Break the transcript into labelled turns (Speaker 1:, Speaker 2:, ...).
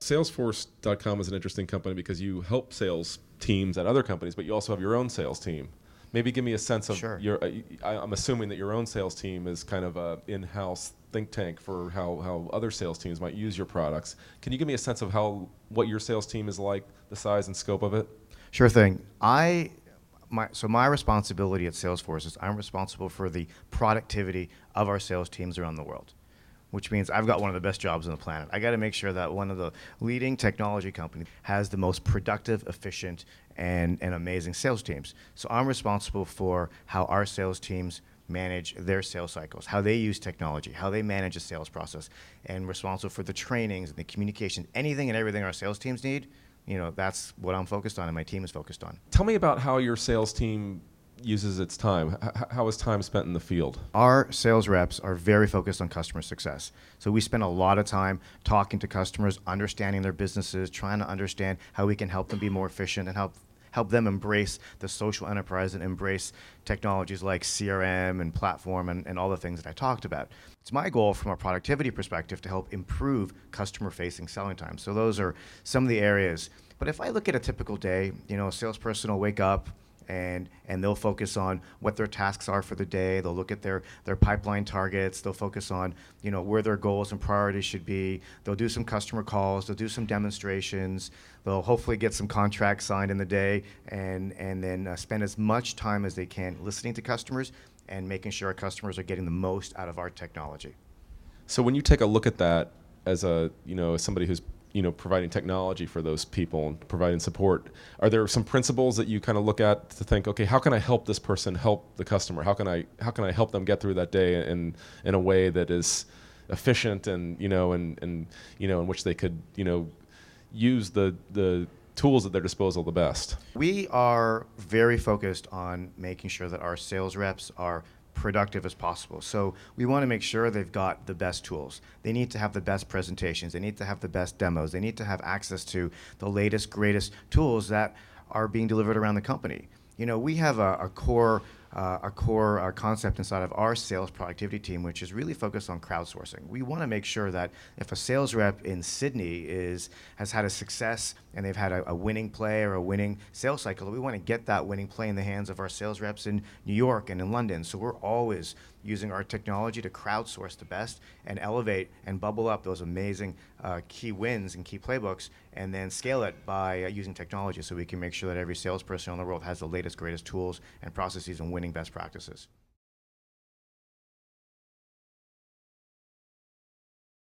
Speaker 1: Salesforce.com is an interesting company because you help sales teams at other companies, but you also have your own sales team. Maybe give me a sense of
Speaker 2: Sure.
Speaker 1: your. I'm assuming that your own sales team is kind of a in-house think tank for how other sales teams might use your products. Can you give me a sense of what your sales team is like, the size and scope of it?
Speaker 2: Sure thing. My responsibility at Salesforce is I'm responsible for the productivity of our sales teams around the world, which means I've got one of the best jobs on the planet. I got to make sure that one of the leading technology companies has the most productive, efficient, and amazing sales teams. So I'm responsible for how our sales teams manage their sales cycles, how they use technology, how they manage a sales process, and responsible for the trainings and the communication, anything and everything our sales teams need. That's what I'm focused on and my team is focused on.
Speaker 1: Tell me about how your sales team uses its time. How is time spent in the field?
Speaker 2: Our sales reps are very focused on customer success. So we spend a lot of time talking to customers, understanding their businesses, trying to understand how we can help them be more efficient and help them embrace the social enterprise and embrace technologies like CRM and platform and all the things that I talked about. It's my goal from a productivity perspective to help improve customer-facing selling time. So those are some of the areas. But if I look at a typical day, a salesperson will wake up, and they'll focus on what their tasks are for the day. They'll look at their pipeline targets. They'll focus on where their goals and priorities should be. They'll do some customer calls. They'll do some demonstrations. They'll hopefully get some contracts signed in the day, and then spend as much time as they can listening to customers and making sure our customers are getting the most out of our technology.
Speaker 1: So when you take a look at that as as somebody who's providing technology for those people and providing support, are there some principles that you kind of look at to think, okay, how can I help this person help the customer? How can I help them get through that day in a way that is efficient and in which they could use the tools at their disposal the best?
Speaker 2: We are very focused on making sure that our sales reps are productive as possible. So we want to make sure they've got the best tools. They need to have the best presentations. They need to have the best demos. They need to have access to the latest, greatest tools that are being delivered around the company. We have a core concept inside of our sales productivity team, which is really focused on crowdsourcing. We want to make sure that if a sales rep in Sydney has had a success and they've had a winning play or a winning sales cycle, we want to get that winning play in the hands of our sales reps in New York and in London. So we're always using our technology to crowdsource the best and elevate and bubble up those amazing key wins and key playbooks, and then scale it by using technology so we can make sure that every salesperson in the world has the latest, greatest tools and processes and winning best practices.